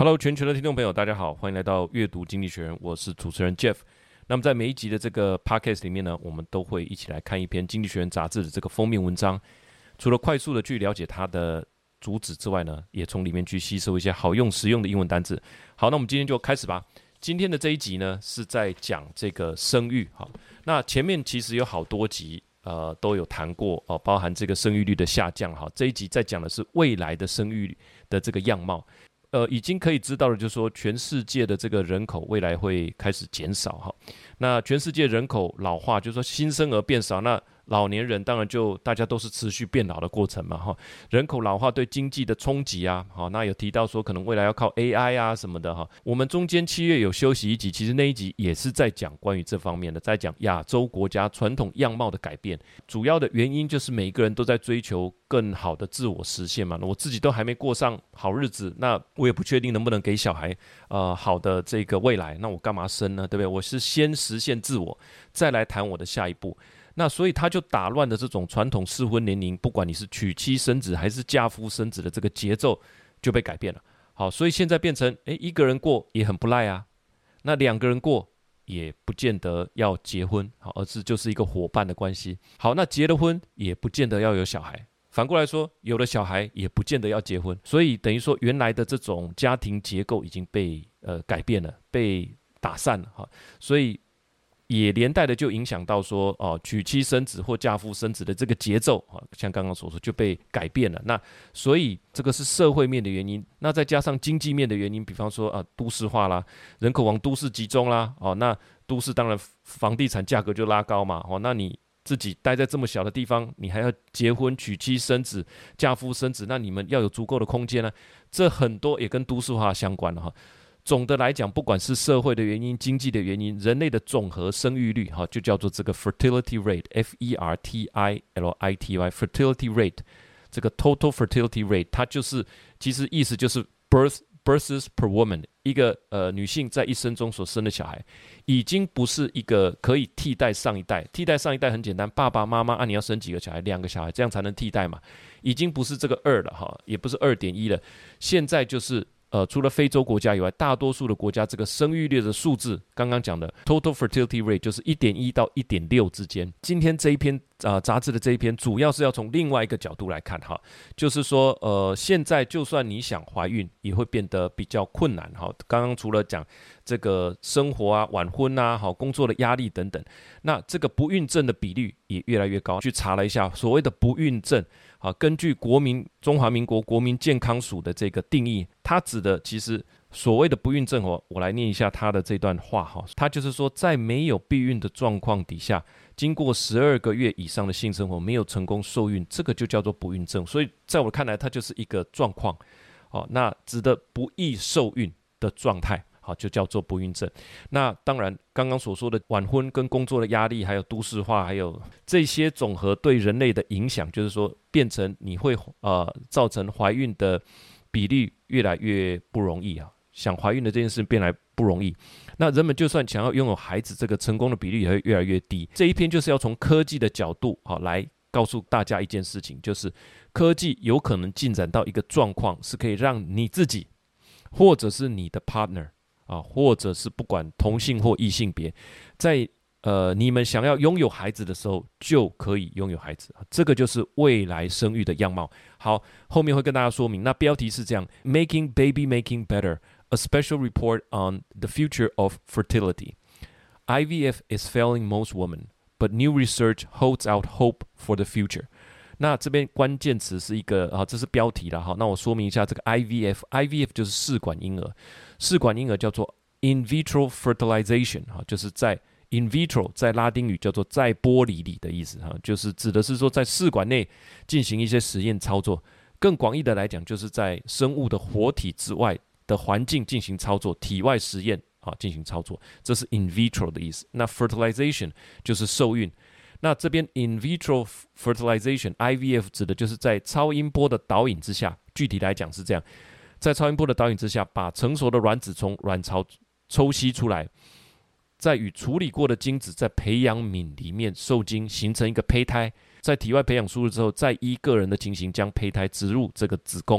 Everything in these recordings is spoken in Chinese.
Hello， 全球的聽眾朋友，大家好，歡迎來到閱讀經濟學人，我是主持人 Jeff。那麼在每一集的這個 Podcast 裡面呢，我們都會一起來看一篇經濟學人雜誌的這個封面文章。除了快速的去了解它的主旨之外呢，也從裡面去吸收一些好用實用的英文單字。好，那我們今天就開始吧。今天的這一集呢，是在講這個生育。好，那前面其實有好多集都有談過哦，包含這個生育率的下降。好，這一集在講的是未來的生育的這個樣貌。已經可以知道的，就是說全世界的這個人口未來會開始減少哈。那全世界人口老化，就是說新生兒變少，那老年人當然就大家都是持續變老的過程嘛哈。人口老化對經濟的衝擊啊，好，那有提到說可能未來要靠 AI 啊什麼的哈。我們中間7月有休息一集，其實那一集也是在講關於這方面的，在講亞洲國家傳統樣貌的改變。主要的原因就是每一個人都在追求更好的自我實現嘛。我自己都還沒過上好日子，那我也不確定能不能給小孩好的這個未來，那我幹嘛生呢？對不對？我是先實現自我，再來談我的下一步。那所以他就打亂了這種傳統適婚年齡，不管你是娶妻生子還是嫁夫生子的這個節奏就被改變了。好，所以現在變成一個人過也很不賴啊，那兩個人過也不見得要結婚，好，而是就是一個夥伴的關係。好，那結了婚也不見得要有小孩，反過來說，有了小孩也不見得要結婚。所以等於說原來的這種家庭結構已經被改變了，被打散了哈，所以也連帶的就影響到說娶妻生子或嫁夫生子的這個節奏啊，像剛剛所說就被改變了。那所以這個是社會面的原因，那再加上經濟面的原因，比方說都市化啦，人口往都市集中啦，那都市當然房地產價格就拉高嘛，那你自己待在這麼小的地方，你還要結婚娶妻生子嫁夫生子，那你們要有足夠的空間呢，這很多也跟都市化相關了哈。總的來講，不管是社會的原因、經濟的原因，人類的總和生育率，就叫做這個 fertility rate，F-E-R-T-I-L-I-T-Y，fertility rate， 這個 total fertility rate， 它就是其實意思就是 births per woman， 一個女性在一生中所生的小孩，已經不是一個可以替代上一代。替代上一代很簡單，爸爸媽媽你要生幾個小孩？2個小孩，這樣才能替代嘛。已經不是這個2了哈，也不是2.1了，現在就是除了非洲國家以外，大多數的國家這個生育率的數字，剛剛講的 total fertility rate 就是 1.1 到 1.6 之間。今天這一篇雜誌的這一篇，主要是要從另外一個角度來看哈，就是說現在就算你想懷孕，也會變得比較困難哈。剛剛除了講這個生活啊、晚婚啊、工作的壓力等等，那這個不孕症的比率也越來越高。去查了一下，所謂的不孕症，根據中華民國國民健康署的這個定義，它指的其實所謂的不孕症我來念一下它的這段話哈，它就是說在沒有避孕的狀況底下，經過12個月以上的性生活沒有成功受孕，這個就叫做不孕症。所以在我看來，它就是一個狀況，那指的不易受孕的狀態。好，就叫做不孕症。那當然，剛剛所說的晚婚跟工作的壓力，還有都市化，還有這些總和對人類的影響，就是說變成你會造成懷孕的比例越來越不容易啊。想懷孕的這件事變來不容易。那人們就算想要擁有孩子，這個成功的比例也會越來越低。這一篇就是要從科技的角度來告訴大家一件事情，就是科技有可能進展到一個狀況，是可以讓你自己或者是你的 partner。或者是不管同性或異性別，在你們想要擁有孩子的時候，就可以擁有孩子。這個就是未來生育的樣貌。好，後面會跟大家說明。那標題是這樣 ：Making Baby Making Better: A Special Report on the Future of Fertility. IVF is failing most women, but new research holds out hope for the future. 那這邊關鍵詞是一個這是標題啦。好，那我說明一下這個 IVF 就是試管嬰兒。試管嬰兒叫做 in vitro fertilization， 就是在 in vitro 在拉丁語叫做在玻璃裡的意思，就是指的是說在試管內進行一些實驗操作。更廣義的來講，就是在生物的活體之外的環境進行操作，體外實驗進行操作，這是 in vitro 的意思。那 fertilization 就是受孕。那這邊 in vitro fertilization IVF 指的就是在超音波的導引之下，具體來講是這樣。在超音波的導引之下，把成熟的卵子從卵巢抽吸出來，再與處理過的精子在培養皿裡面受精，形成一個胚胎。在體外培養輸入之後，再依個人的情形將胚胎植入這個子宮。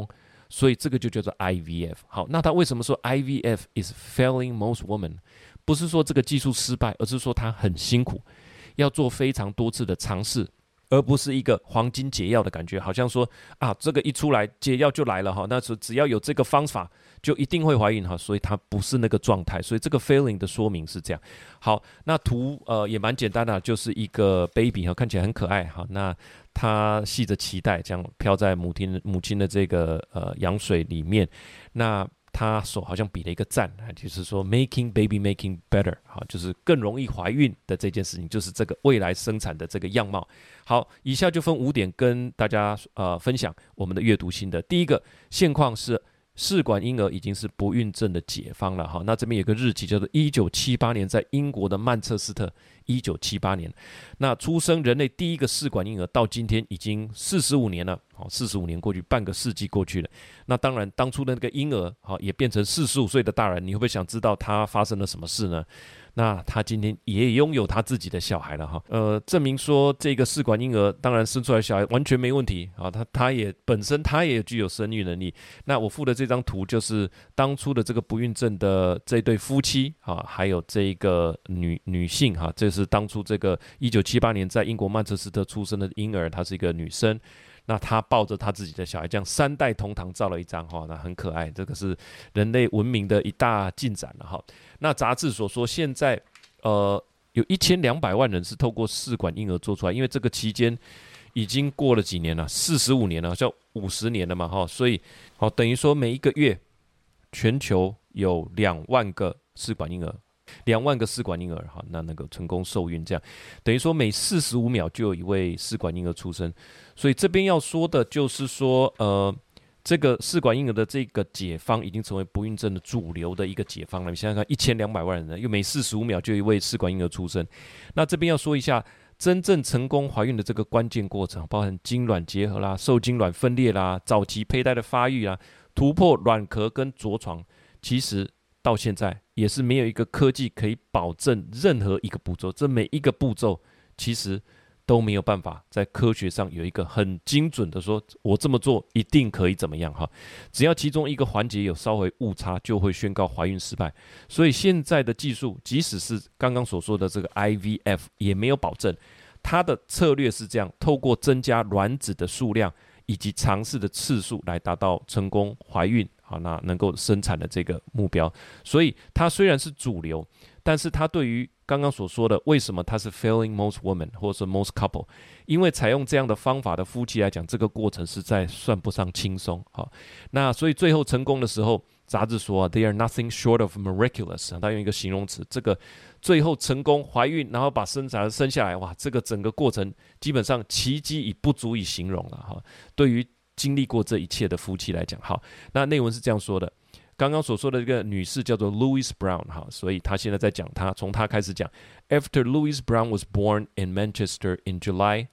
所以這個就叫做 IVF。好，那他為什麼說 IVF is failing most women？ 不是說這個技術失敗，而是說他很辛苦，要做非常多次的嘗試，而不是一個黃金解藥的感覺，好像說啊，這個一出來解藥就來了哈，那只要有這個方法就一定會懷孕哈，所以它不是那個狀態，所以這個 failing 的說明是這樣。好，那圖也蠻簡單的，就是一個 baby 哈，看起來很可愛哈，那他繫着臍帶，這樣飄在母親的這個羊水裡面，那他手好像比了一個讚，就是說 making baby making better， 好，就是更容易懷孕的這件事情，就是這個未來生產的這個樣貌。好，以下就分5點跟大家分享我們的閱讀心得。第一個，現況是試管嬰兒已經是不孕症的解方了哈。那這邊有個日期叫做1978年，在英國的曼徹斯特，1978年，那出生人類第一個試管嬰兒到今天已經45年了，好，45年過去，半個世紀過去了。那當然，當初的那個嬰兒好也變成45歲的大人，你會不會想知道他發生了什麼事呢？那他今天也擁有他自己的小孩了哈，證明說這個試管嬰兒當然生出來小孩完全沒問題啊，他也本身他也具有生育能力。那我附的這張圖就是當初的這個不孕症的這對夫妻啊，還有這個女性哈，這是當初這個1978年在英國曼徹斯特出生的嬰兒，她是一個女生。那他抱着他自己的小孩，這樣3代同堂照了一張哈，那很可愛。這個是人類文明的一大進展了哈。那雜誌所說，現在有1200萬人是透過試管嬰兒做出來，因為這個期間已經過了幾年了，45年了，好像50年了嘛哈。所以好，等於說每一個月全球有2萬個試管嬰兒。2萬個試管嬰兒哈，那個成功受孕，這樣等於說每45秒就有一位試管嬰兒出生，所以這邊要說的就是說，這個試管嬰兒的這個解方已經成為不孕症的主流的一個解方了。你想想看，1200萬人，又每45秒就有一位試管嬰兒出生。那這邊要說一下，真正成功懷孕的這個關鍵過程，包含精卵結合啦、受精卵分裂啦、早期胚胎的發育啦、突破卵殼跟着床，其實到現在也是沒有一個科技可以保證任何一個步驟，這每一個步驟其實都沒有辦法在科學上有一個很精準的說，我這麼做一定可以怎麼樣哈？只要其中一個環節有稍微誤差，就會宣告懷孕失敗。所以現在的技術，即使是剛剛所說的這個 IVF， 也沒有保證。它的策略是這樣，透過增加卵子的數量以及嘗試的次數來達到成功懷孕。好，那能夠生產的這個目標，所以它雖然是主流，但是它對於剛剛所說的為什麼它是 failing most women 或者是 most couple， 因為採用這樣的方法的夫妻來講，這個過程實在算不上輕鬆。好，那所以最後成功的時候，雜誌說 they are nothing short of miraculous， 他用一個形容詞，這個最後成功懷孕，然後把生下來，哇，這個整個過程基本上奇蹟已不足以形容了哈。對於經歷過這一切的夫妻來講，好，那內文是這樣說的。剛剛所說的這個女士叫做 Louise Brown， 哈，所以她現在在講從她開始講。After Louise Brown was born in Manchester in July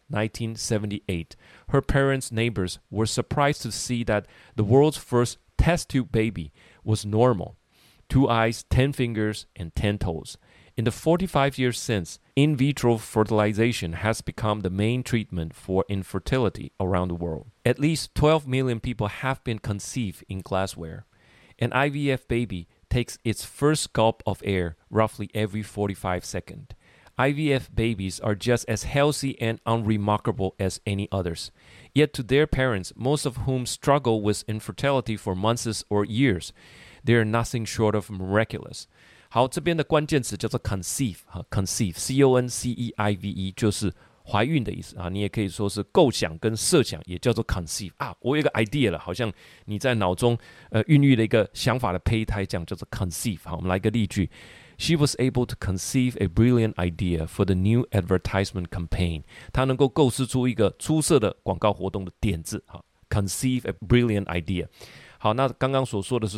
1978, her parents' neighbors were surprised to see that the world's first test tube baby was normal, 2 eyes, 10 fingers, and 10 toes. In the 45 years since, in vitro fertilization has become the main treatment for infertility around the world. At least 12 million people have been conceived in glassware. An IVF baby takes its first gulp of air roughly every 45 seconds. IVF babies are just as healthy and unremarkable as any others. Yet to their parents, most of whom struggle with infertility for months or years, they are nothing short of miraculous. 好，這邊的關鍵詞叫做 conceive，conceive， C-O-N-C-E-I-V-E， 就是懷孕的意思啊。你也可以說是構想跟設想，也叫做 conceive 啊。我有一個 idea 了，好像你在腦中孕育了一個想法的胚胎，這樣叫做 conceive。好，我們來一個例句。She was able to conceive a brilliant idea for the new advertisement campaign. 她能夠構思出一個出色的廣告活動的點子。好 ，conceive a brilliant idea。好，那剛剛所說的是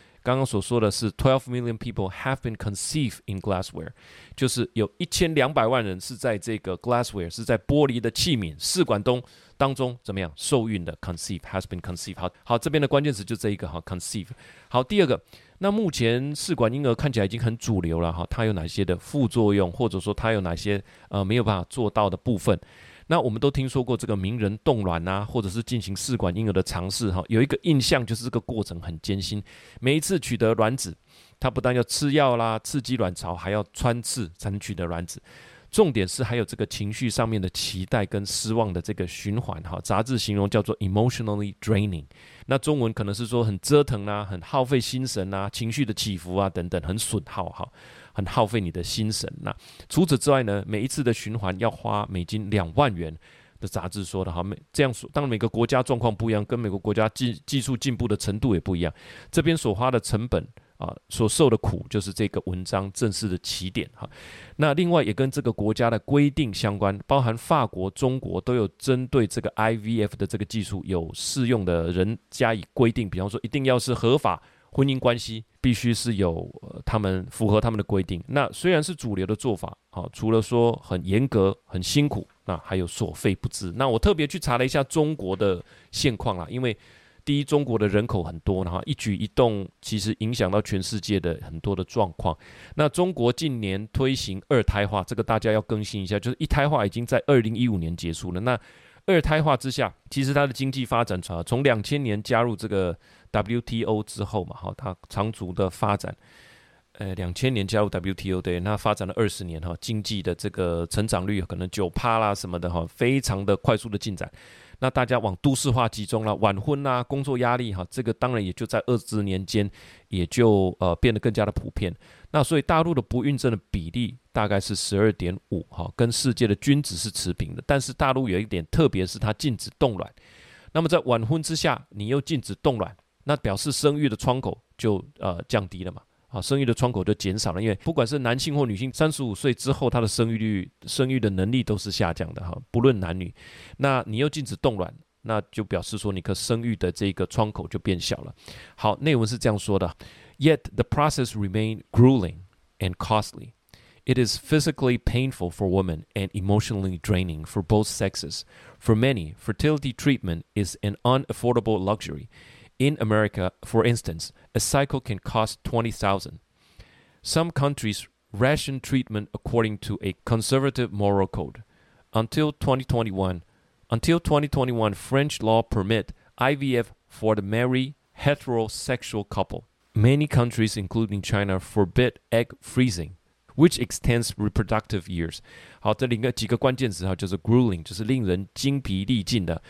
12 million people have been conceived in glassware， 就是有1200萬人是在這個 glassware， 是在玻璃的器皿試管當中怎麼樣受孕的 conceive has been conceived。好，這邊的關鍵詞就這一個哈 conceive。好，第二個，那目前試管嬰兒看起來已經很主流了哈，它有哪些的副作用，或者說它有哪些沒有辦法做到的部分？ 那我們都聽說過這個名人凍卵啊，或者是進行試管嬰兒的嘗試哈，有一個印象就是這個過程很艱辛，每一次取得卵子，它不但要吃藥啦，刺激卵巢，還要穿刺才能取得卵子。重點是還有這個情緒上面的期待跟失望的這個循環哈，雜誌形容叫做 emotionally draining， 那中文可能是說很折騰啊，很耗費心神啊，情緒的起伏啊等等，很損耗哈，很耗費你的心神。那除此之外呢，每一次的循環要花美金2萬元的雜誌說的哈，這樣說，當然每個國家狀況不一樣，跟每個國家技術進步的程度也不一樣，這邊所花的成本所受的苦就是這個文章正式的起點哈。那另外也跟這個國家的規定相關，包含法國、中國都有針對這個 IVF 的這個技術有適用的人加以規定，比方說一定要是合法婚姻關係，必須是有他們符合他們的規定。那雖然是主流的做法，除了說很嚴格、很辛苦，那還有所費不貲。那我特別去查了一下中國的現況啦，因為第一，中國的人口很多，然後一舉一動其實影響到全世界的很多的狀況。那中國近年推行2胎化，這個大家要更新一下，就是1胎化已經在2015年結束了。那2胎化之下，其實它的經濟發展從2000年加入這個 WTO 之後嘛，它長足的發展。2000年加入 WTO， 對，那發展了20年哈，經濟的這個成長率可能9%啦什麼的哈，非常的快速的進展。那大家往都市化集中啦，晚婚啦，工作壓力哈，這個當然也就在20年間也就變得更加的普遍。那所以大陸的不孕症的比例大概是12.5哈，跟世界的均值是持平的。但是大陸有一點特別，是它禁止凍卵。那麼在晚婚之下，你又禁止凍卵，那表示生育的窗口就降低了嘛。生育的窗口就減少了，因為不管是男性或女性，35歲之後，他的生育的能力都是下降的哈，不論男女。那你又禁止凍卵，那就表示說你可生育的這個窗口就變小了。好，內文是這樣說的 ：Yet the process remained grueling and costly. It is physically painful for women and emotionally draining for both sexes. For many, fertility treatment is an unaffordable luxury.In America, for instance, a cycle can cost $20,000. Some countries ration treatment according to a conservative moral code. Until 2021, French law permit IVF for the married heterosexual couple. Many countries, including China, forbid egg freezing.Which extends reproductive years. 好，這裡幾個關鍵詞哈，就是 grueling， 就是令人精疲力盡的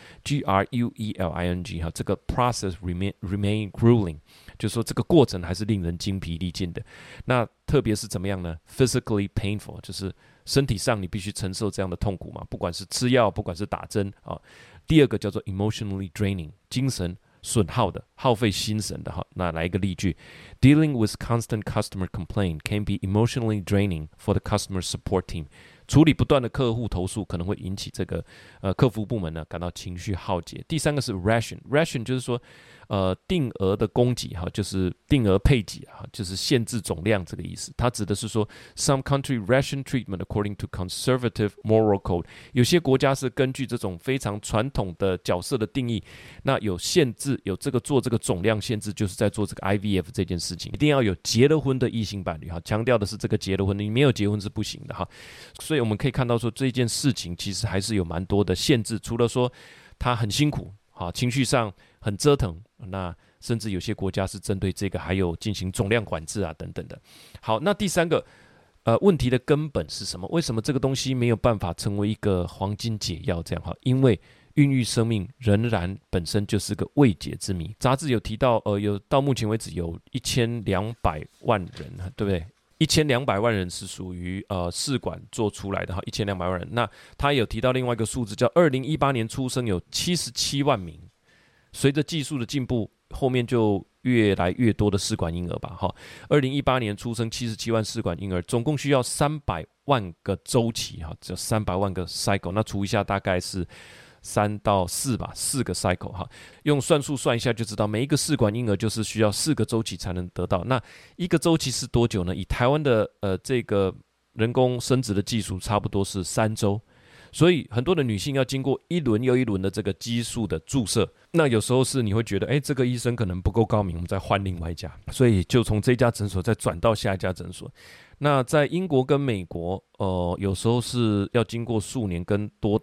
，Grueling 哈，這個 process remain grueling， 就是說這個過程還是令人精疲力盡的。那特別是怎麼樣呢 ？Physically painful， 就是身體上你必須承受這樣的痛苦嘛，不管是吃藥，不管是打針啊。第二個叫做 emotionally draining， 精神損耗的，耗費心神的哈。那來一個例句 ：Dealing with constant customer complaint can be emotionally draining for the customer support team. 處理不斷的客戶投訴可能會引起這個客服部門呢感到情緒耗竭。第三個是 ration 就是說定額的供給哈，就是定額配給哈，就是限制總量這個意思。它指的是說 some country ration treatment according to conservative moral code。有些國家是根據這種非常傳統的角色的定義，那有限制，有這個做這個總量限制，就是在做這個 IVF 這件事情，一定要有結了婚的異性伴侶哈，強調的是這個結了婚，你沒有結婚是不行的哈。所以我們可以看到說這件事情其實還是有蠻多的限制，除了說它很辛苦，情緒上很折騰，那甚至有些國家是針對這個還有進行總量管制啊等等的。好，那第三個問題的根本是什麼？為什麼這個東西沒有辦法成為一個黃金解藥這樣哈？因為孕育生命仍然本身就是個未解之謎。雜誌有提到有到目前為止有1200萬人，對不對？1200萬人是屬於試管做出來的哈，1200萬人。那他有提到另外一個數字，叫2018年出生有77萬名。隨着技術的進步，後面就越來越多的試管嬰兒吧哈。2018年出生77萬試管嬰兒，總共需要300萬個週期哈，這300萬個 cycle， 那除一下大概是3到4吧，4個 cycle 哈，用算術算一下就知道，每一個試管嬰兒就是需要4個週期才能得到。那一個週期是多久呢？以台灣的這個人工生殖的技術，差不多是3週。所以很多的女性要經過一輪又一輪的這個激素的注射，那有時候是你會覺得，這個醫生可能不夠高明，我們再換另外一家，所以就從這家診所再轉到下一家診所。那在英國跟美國，有時候是要經過數年跟多達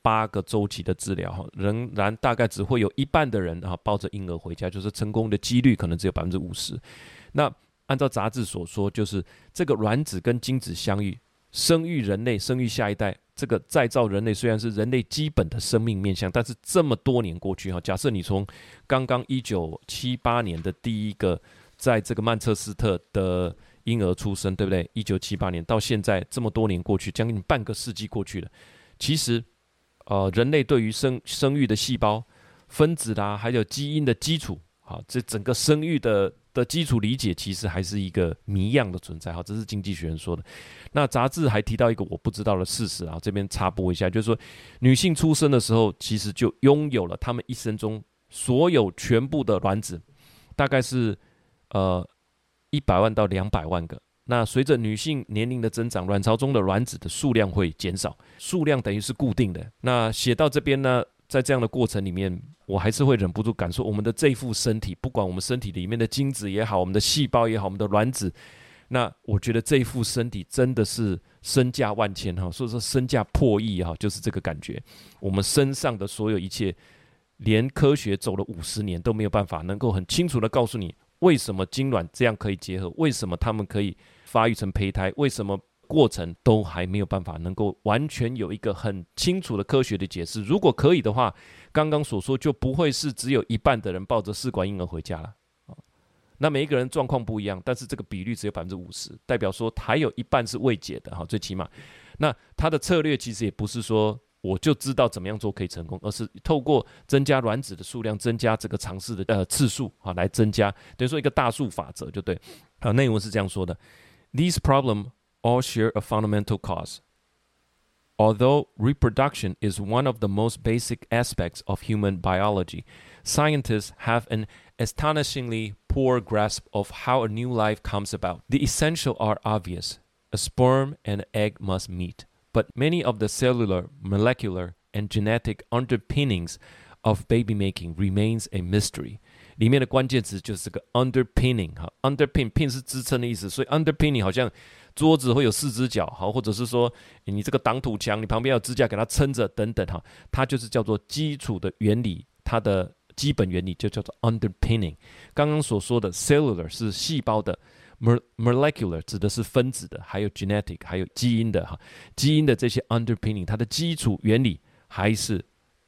8個週期的治療哈，仍然大概只會有一半的人抱着嬰兒回家，就是成功的幾率可能只有50%。那按照雜誌所說，就是這個卵子跟精子相遇，生育人類，生育下一代，這個再造人類雖然是人類基本的生命面向，但是這麼多年過去哈，假設你從剛剛1978年的第一個在這個曼徹斯特的嬰兒出生，對不對？1978年到現在這麼多年過去，將近半個世紀過去了。其實，人類對於生育的細胞、分子啦，還有基因的基礎，好，這整個生育的基礎理解，其實還是一個謎樣的存在。好，這是經濟學人說的。那雜誌還提到一個我不知道的事實啊，這邊插播一下，就是說，女性出生的時候，其實就擁有了她們一生中所有全部的卵子，大概是100萬到200萬個。那隨着女性年齡的增長，卵巢中的卵子的數量會減少，數量等於是固定的。那寫到這邊呢，在這樣的過程裡面，我還是會忍不住感受，我們的這副身體，不管我們身體裡面的精子也好，我們的細胞也好，我們的卵子，那我覺得這副身體真的是身價萬千哈，所以說身價破億哈，就是這個感覺。我們身上的所有一切，連科學走了50年都沒有辦法能夠很清楚的告訴你，為什麼精卵這樣可以結合，為什麼它們可以發育成胚胎，為什麼過程都還沒有辦法能夠完全有一個很清楚的科學的解釋。如果可以的話，剛剛所說就不會是只有一半的人抱着試管嬰兒回家了。那每一個人狀況不一樣，但是這個比率只有50%，代表說還有一半是未解的哈，最起碼。那他的策略其實也不是說我就知道怎麼樣做可以成功，而是透過增加卵子的數量，增加這個嘗試的次數啊，來增加，等於說一個大數法則就對。好，內文是這樣說的 ：These problems all share a fundamental cause. Although reproduction is one of the most basic aspects of human biology, scientists have an astonishingly poor grasp of how a new life comes about. The essentials are obvious. A sperm and an egg must meet, but many of the cellular, molecular, and genetic underpinnings of baby-making remains a mystery. 裡面的關鍵詞就是這個 underpinning 哈 ，underpin 是支撐的意思，所以 underpinning 好像桌子會有4隻腳，好，或者是說你這個擋土牆，你旁邊有支架給它撐着等等哈，它就是叫做基礎的原理，它的基本原理就叫做 underpinning。剛剛所說的 cellular 是細胞的 ，molecular 指的是分子的，還有 genetic 還有基因的哈，基因的這些 underpinning 它的基礎原理還是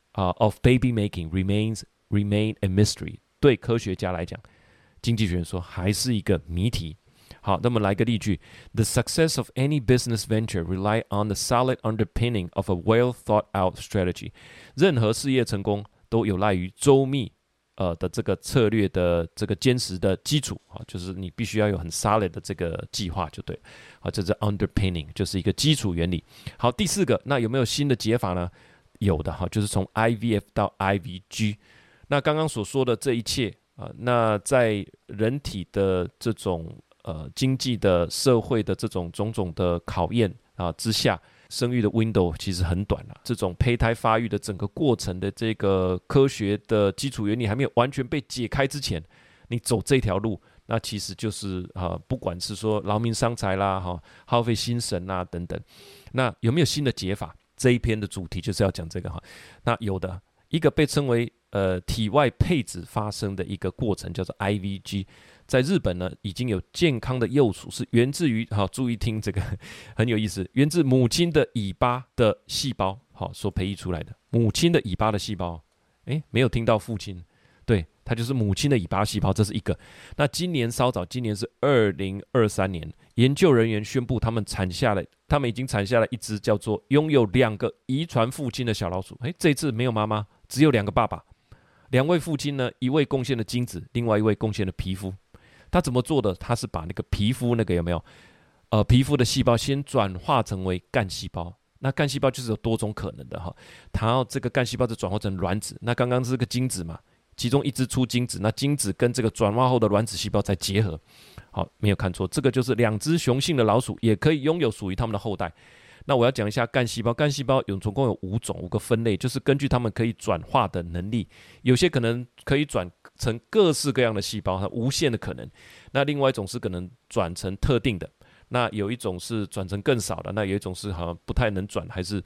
of baby making remain a mystery。對科學家來講，經濟學人說還是一個謎題。好，那麼來個例句 ：The success of any business venture rely on the solid underpinning of a well-thought-out strategy。任何事業成功都有賴於周密的這個策略的這個堅實的基礎啊，就是你必須要有很 solid 的這個計劃就對了。好，這是 underpinning， 就是一個基礎原理。好，第4個，那有沒有新的解法呢？有的哈，就是從 IVF 到 IVG。那剛剛所說的這一切那在人體的這種經濟的社會的這種種種的考驗之下，生育的 window 其實很短了。這種胚胎發育的整個過程的這個科學的基礎原理還沒有完全被解開之前，你走這條路，那其實就是不管是說勞民傷財啦，耗費心神啦等等。那有沒有新的解法？這一篇的主題就是要講這個哈。那有的一個被稱為體外配子發生的一個過程叫做 IVG， 在日本呢已經有健康的幼鼠是源自於注意聽這個很有意思，源自母親的尾巴的細胞所培育出來的。母親的尾巴的細胞，沒有聽到父親，對，它就是母親的尾巴細胞，這是一個。那今年稍早，今年是2023年，研究人員宣布他們已經產下了一隻叫做擁有2個遺傳父親的小老鼠。這次沒有媽媽，只有2個爸爸。2位父親呢，一位貢獻了精子，另外一位貢獻了皮膚。他怎麼做的？他是把那個皮膚那個有沒有？皮膚的細胞先轉化成為幹細胞。那幹細胞就是有多種可能的哈。然後這個幹細胞就轉化成卵子。那剛剛是個精子嘛，其中一隻出精子，那精子跟這個轉化後的卵子細胞再結合。好，沒有看錯，這個就是2隻雄性的老鼠也可以擁有屬於他們的後代。那我要講一下幹細胞，幹細胞總共有5個分類，就是根據它們可以轉化的能力，有些可能可以轉成各式各樣的細胞，它無限的可能。那另外一種是可能轉成特定的，那有一種是轉成更少的，那有一種是好像不太能轉，還是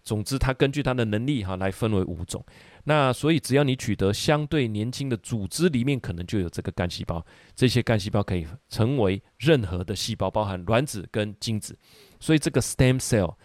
總之它根據它的能力來分為5種。那所以只要你取得相對年輕的組織裡面可能就有這個幹細胞，這些幹細胞可以成為任何的細胞，包含卵子跟精子。所以這個 stem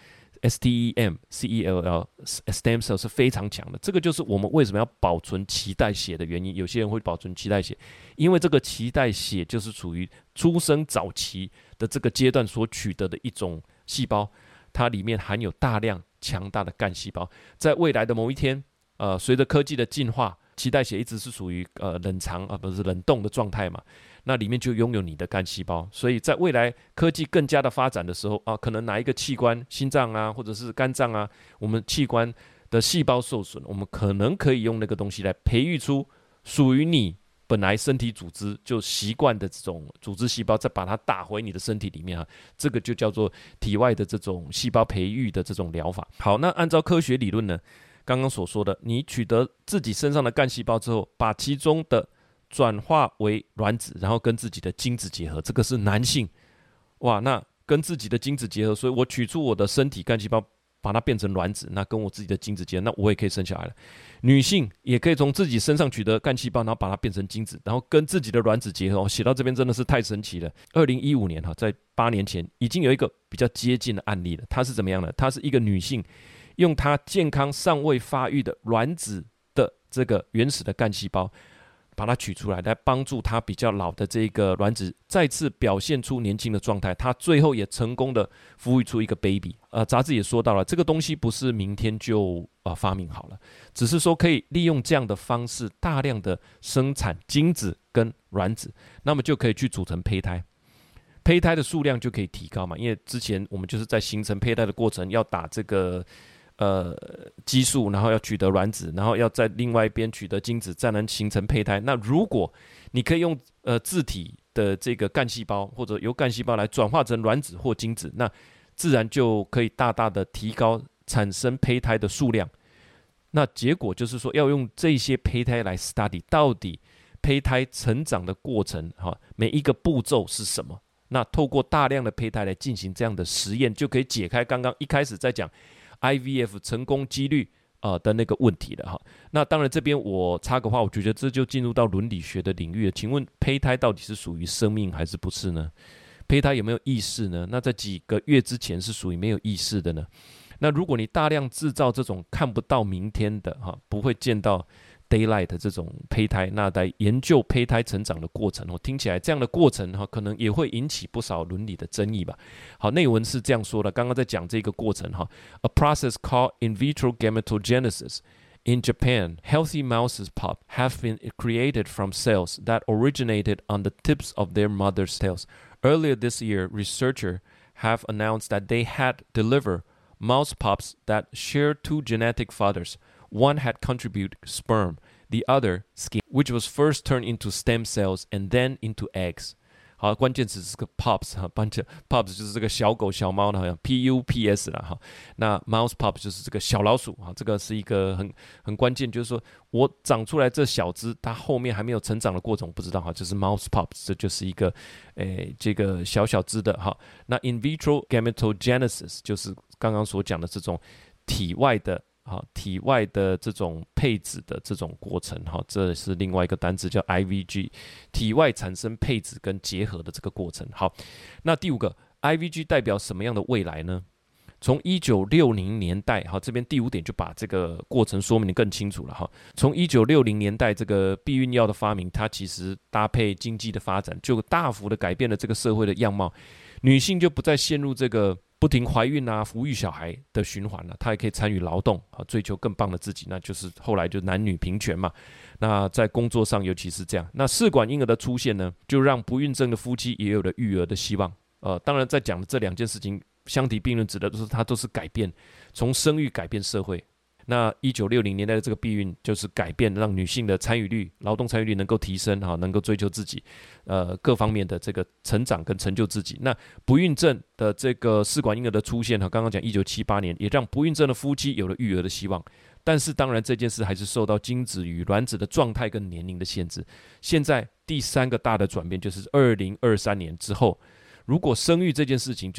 cell。STEM stem cell 是非常強的，這個就是我們為什麼要保存臍帶血的原因。有些人會保存臍帶血，因為這個臍帶血就是屬於出生早期的這個階段所取得的一種細胞，它裡面含有大量強大的幹細胞。在未來的某一天，隨着科技的進化，臍帶血一直是屬於冷藏不是冷凍的狀態嘛。那裡面就擁有你的幹細胞，所以在未來科技更加的發展的時候可能哪一個器官，心臟啊，或者是肝臟啊，我們器官的細胞受損，我們可能可以用那個東西來培育出屬於你本來身體組織就習慣的這種組織細胞，再把它打回你的身體裡面這個就叫做體外的這種細胞培育的這種療法。好，那按照科學理論呢，剛剛所說的，你取得自己身上的幹細胞之後，把其中的轉化為卵子，然後跟自己的精子結合，這個是男性。哇，那跟自己的精子結合，所以我取出我的身體幹細胞，把它變成卵子，那跟我自己的精子結合，那我也可以生小孩了。女性也可以從自己身上取得幹細胞，然後把它變成精子，然後跟自己的卵子結合。寫到這邊真的是太神奇了。2015年在8年前已經有一個比較接近的案例了。它是怎麼樣呢？它是一個女性用她健康尚未發育的卵子的這個原始的幹細胞，把它取出來，來幫助它比較老的這個卵子再次表現出年輕的狀態。它最後也成功的孵育出一個 baby。雜誌也說到了，這個東西不是明天就發明好了，只是說可以利用這樣的方式大量的生產精子跟卵子，那麼就可以去組成胚胎，胚胎的數量就可以提高嘛。因為之前我們就是在形成胚胎的过程要打這個激素，然後要取得卵子，然後要在另外一邊取得精子，再能形成胚胎。那如果你可以用自體的這個幹細胞，或者由幹細胞來轉化成卵子或精子，那自然就可以大大的提高產生胚胎的數量。那結果就是說，要用這些胚胎來 study 到底胚胎成長的過程，每一個步驟是什麼。那透過大量的胚胎來進行這樣的實驗，就可以解開剛剛一開始在講IVF 成功幾率的那個問題了哈。那當然這邊我插個話，我覺得這就進入到倫理學的領域了。請問胚胎到底是屬於生命還是不是呢？胚胎有沒有意識呢？那在幾個月之前是屬於沒有意識的呢？那如果你大量製造這種看不到明天的不會見到 daylight 的這種胚胎，那在研究胚胎成長的過程，聽起來這樣的過程可能也會引起不少倫理的爭議吧。好，內文是這樣說的，剛剛在講這個過程，A process called in vitro gametogenesis. In Japan, healthy mouses pup have been created from cells that originated on the tips of their mother's tails. Earlier this year, researchers have announced that they had delivered mouse pups that share two genetic fathers. One had contributed sperm, the other skin, which was first turned into stem cells and then into eggs. 好，關鍵詞是個 pups，pups 就是這個小狗小貓的，好像 pups 啦哈。那 mouse pup 就是這個小老鼠啊，這個是一個很關鍵，就是說我長出來這小隻，它後面還沒有成長的過程，我不知道哈，就是 mouse pups， 這就是一個這個小隻的哈。那 in vitro gametogenesis 就是剛剛所講的這種體外的這種配子的這種過程，這是另外一個單字叫 IVG， 體外產生配子跟結合的這個過程。好，那第5個 IVG 代表什麼樣的未來呢？從1960年代，這邊第5點就把這個過程說明得更清楚了。從1960年代這個避孕藥的發明，它其實搭配經濟的發展，就大幅的改變了這個社會的樣貌，女性就不再陷入這個不停懷孕撫育小孩的循環了，她也可以參與勞動，追求更棒的自己，那就是後來就男女平權嘛。那在工作上尤其是這樣。那試管嬰兒的出現呢，就讓不孕症的夫妻也有了育兒的希望。當然在講的這2件事情相提並論，指的都是它都是改變，從生育改變社會。那1960年代的這個避孕就是改變，讓女性的參與率、勞動參與率能夠提升，能夠追求自己，各方面的這個成長跟成就自己。那不孕症的這個試管嬰兒的出現，剛剛講1978年，也讓不孕症的夫妻有了育兒的希望。但是當然這件事還是受到精子與卵子的狀態跟年齡的限制。現在第3個大的轉變就是2023年之後，如果生育這件事情就是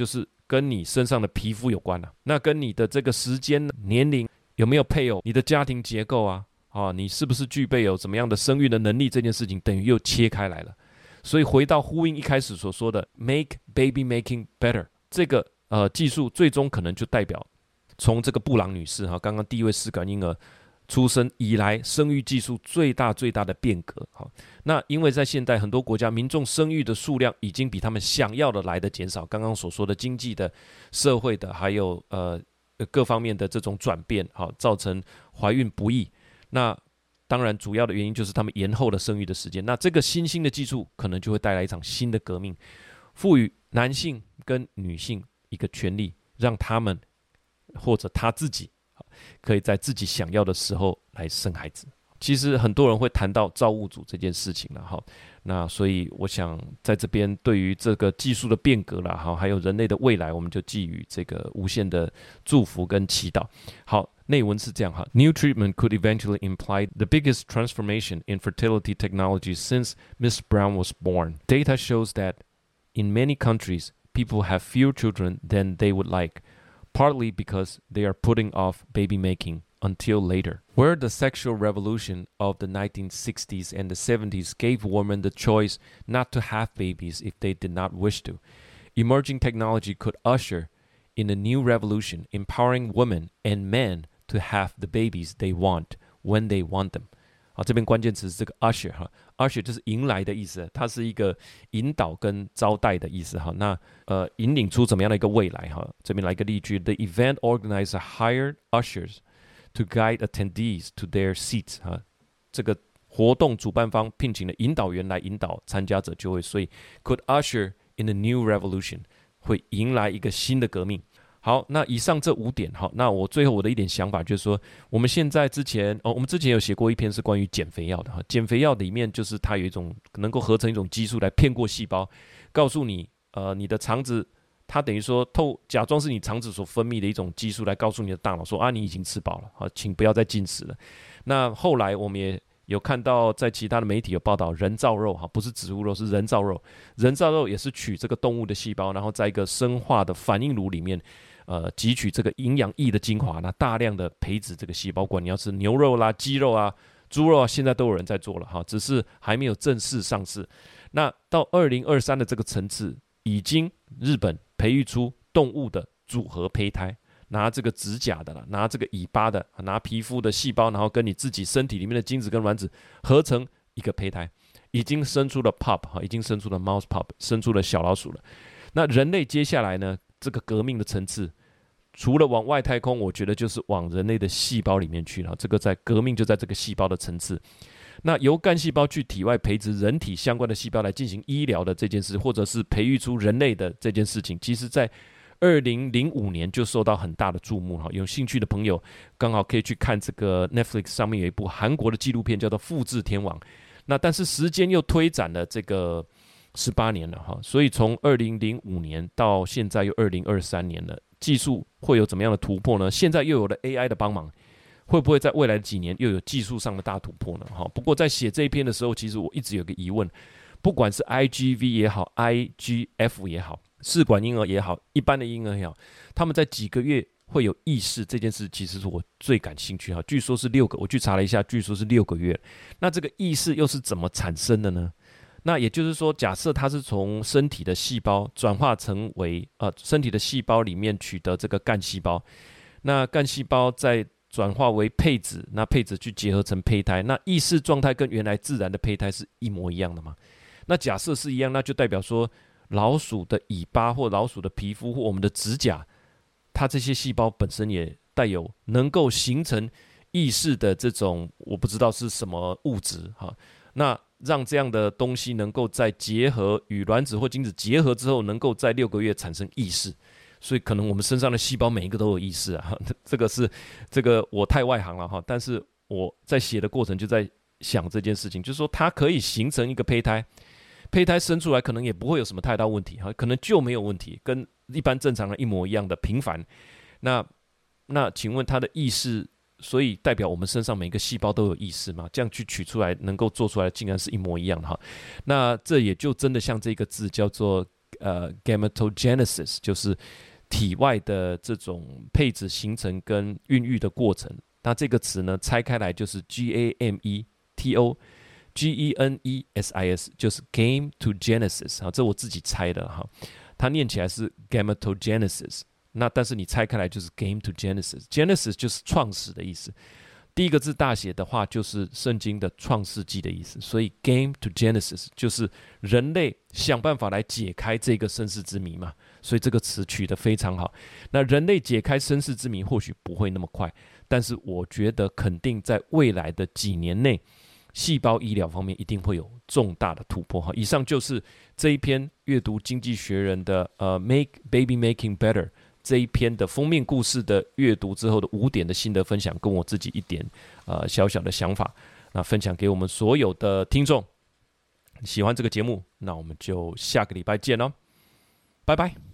跟你身上的皮膚有關啊，那跟你的這個時間、年齡有沒有配偶、你的家庭結構啊，你是不是具備有怎麼樣的生育的能力，這件事情等於又切開來了。所以回到呼應一開始所說的 make baby making better 這個技術，最終可能就代表從這個布朗女士剛剛第一位試管嬰兒出生以來，生育技術最大的變革。那因為在現代很多國家，民眾生育的數量已經比他們想要的來的減少。刚剛所說的經濟的、社會的，還有各方面的這種轉變，造成懷孕不易。那當然主要的原因就是他們延後了生育的時間。那這個新興的技術可能就會帶來一場新的革命，賦予男性跟女性一個權利，讓他們或者他自己可以在自己想要的時候來生孩子。其實很多人會談到造物主這件事情了哈，那所以我想在這邊對於這個技術的變革啦，哈，還有人類的未來，我們就寄予這個無限的祝福跟祈禱。好，內文是這樣哈 ：New treatment could eventually imply the biggest transformation in fertility technology since Ms. Brown was born. Data shows that in many countries, people have fewer children than they would like, partly because they are putting off baby making until later. Where the sexual revolution of the 1960s and the 70s gave women the choice not to have babies if they did not wish to, emerging technology could usher in a new revolution, empowering women and men to have the babies they want when they want them. 好，這邊關鍵詞是這個 usher 哈 ，usher 就是迎來的意思，它是一個引導跟招待的意思哈。那引領出怎麼樣的一個未來哈？這邊來一個例句 ：The event organizer hired ushers to guide attendees to their seats 哈。這個活動主辦方聘請了引導員來引導參加者就位，所以 could usher in a new revolution 會迎來一個新的革命。好，那以上這5點，好，那我最後我的一點想法就是說，我們之前有寫過一篇是關於減肥藥的哈，減肥藥裡面就是它有一種能夠合成一種激素來騙過細胞，告訴你，你的腸子，它等於說假裝是你腸子所分泌的一種激素來告訴你的大腦說啊，你已經吃飽了，好，請不要再進食了。那後來我們也有看到在其他的媒體有報道，人造肉哈，不是植物肉，是人造肉，人造肉也是取這個動物的細胞，然後在一個生化的反應爐裡面。汲取這個營養液的精華，那大量的培植這個細胞，不管你要吃牛肉啦、雞肉啊、豬肉啊，現在都有人在做了哈，只是還沒有正式上市。那到2023的這個層次，已經日本培育出動物的組合胚胎，拿這個指甲的啦，拿這個尾巴的，拿皮膚的細胞，然後跟你自己身體裡面的精子跟卵子合成一個胚胎，已經生出了 pup 哈，已經生出了 mouse pup， 生出了小老鼠了。那人類接下來呢，這個革命的層次，除了往外太空，我覺得就是往人類的細胞裡面去了。這個在革命就在這個細胞的層次。那由幹細胞去體外培植人體相關的細胞來進行醫療的這件事，或者是培育出人類的這件事情，其實在2005年就受到很大的注目。有興趣的朋友剛好可以去看這個 Netflix 上面有一部韓國的紀錄片叫做《複製天王》。那但是時間又推展了這個18年了哈，所以從2005年到現在又2023年了。技術會有怎麼樣的突破呢？現在又有了 AI 的幫忙，會不會在未來的幾年又有技術上的大突破呢？不過在寫這一篇的時候，其實我一直有個疑問，不管是 IGV 也好 IGF 也好，試管嬰兒也好，一般的嬰兒也好，他們在幾個月會有意識這件事，其實是我最感興趣哈。據說是6個，我去查了一下，據說是6個月。那這個意識又是怎麼產生的呢？那也就是說，假設它是從身體的細胞轉化成為身體的細胞裡面取得這個幹細胞，那幹細胞再轉化為配子，那配子去結合成胚胎，那意識狀態跟原來自然的胚胎是一模一樣的嗎？那假設是一樣，那就代表說老鼠的尾巴或老鼠的皮膚或我們的指甲，它這些細胞本身也帶有能夠形成意識的這種我不知道是什麼物質哈，那讓這樣的東西能夠在結合與卵子或精子結合之後，能夠在6個月產生意識，所以可能我們身上的細胞每一個都有意識啊。這個我太外行了哈，但是我在寫的過程就在想這件事情，就是說它可以形成一個胚胎，胚胎生出來可能也不會有什麼太大問題哈，可能就沒有問題，跟一般正常人一模一樣的平凡。那請問它的意識？所以代表我們身上每個細胞都有意識嗎？這樣去取出來能夠做出來竟然是一模一樣的哈。那這也就真的像這個字叫做gametogenesis，就是體外的這種配子形成跟孕育的過程。那這個詞呢，拆開來就是 GAMETOGENESIS， 就是 Gametogenesis 這我自己猜的哈，它念起來是 Gametogenesis， 那但是你拆開來就是 Gametogenesis，Genesis 就是創始的意思。第一個字大寫的話，就是聖經的創世紀的意思，所以 Gametogenesis 就是人類想辦法來解開這個身世之謎嘛，所以這個詞取得非常好。那人類解開身世之謎或許不會那麼快，但是我覺得肯定在未來的幾年內，細胞醫療方面一定會有重大的突破。以上就是這一篇閱讀《經濟學人》的Make Baby Making Better這一篇的封面故事的閱讀之後的5點的心得分享，跟我自己一點小小的想法，那分享給我們所有的聽眾。喜歡這個節目，那我們就下個禮拜見囉，拜拜。